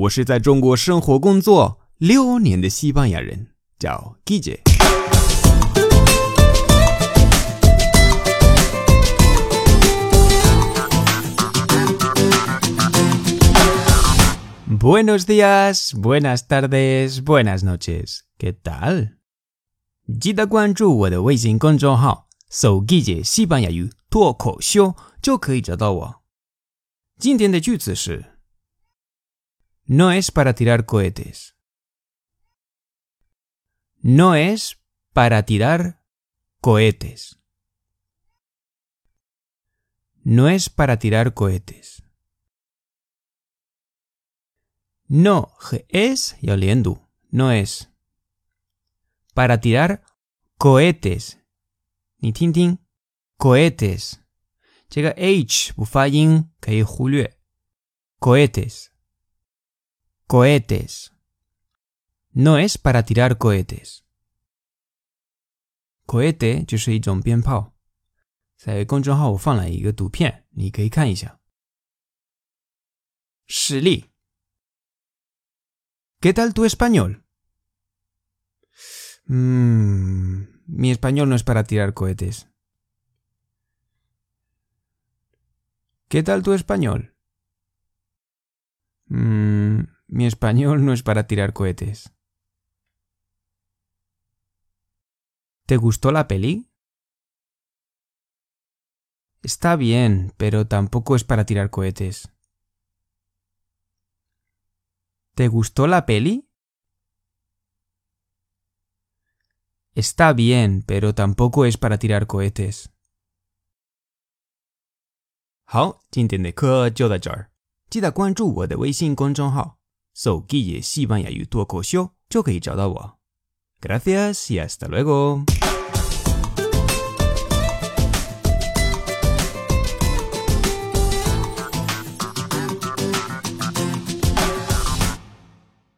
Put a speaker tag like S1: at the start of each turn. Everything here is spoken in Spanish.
S1: 我是在中国生活工作6年的西班牙人，叫 Guille。Buenos días, buenas tardes, buenas noches. ¿Qué tal? 记得关注我的微信公众号，搜 Guille 西班牙语脱口秀就可以找到我。今天的句子是 No es para tirar cohetes. No es para tirar cohetes. No es para tirar cohetes. No es 要连读 no es para tirar cohetes 你听听 cohetes 这个 h 不发音可以忽略 cohetes cohetes no es para tirar cohetes cohete 就是一种鞭炮在公众号我放了一个图片你可以看一下实例¿Qué tal tu español? Mi español no es para tirar cohetes. ¿Qué tal tu español? Mi español no es para tirar cohetes. ¿Te gustó la peli? Está bien, pero tampoco es para tirar cohetes. ¿Te gustó la peli? Está bien, pero tampoco es para tirar cohetes. 好，今天的课就到这儿。记得关注我的微信公众号，搜 Guille 西班牙语脱口秀就可以找到我。Gracias y hasta luego.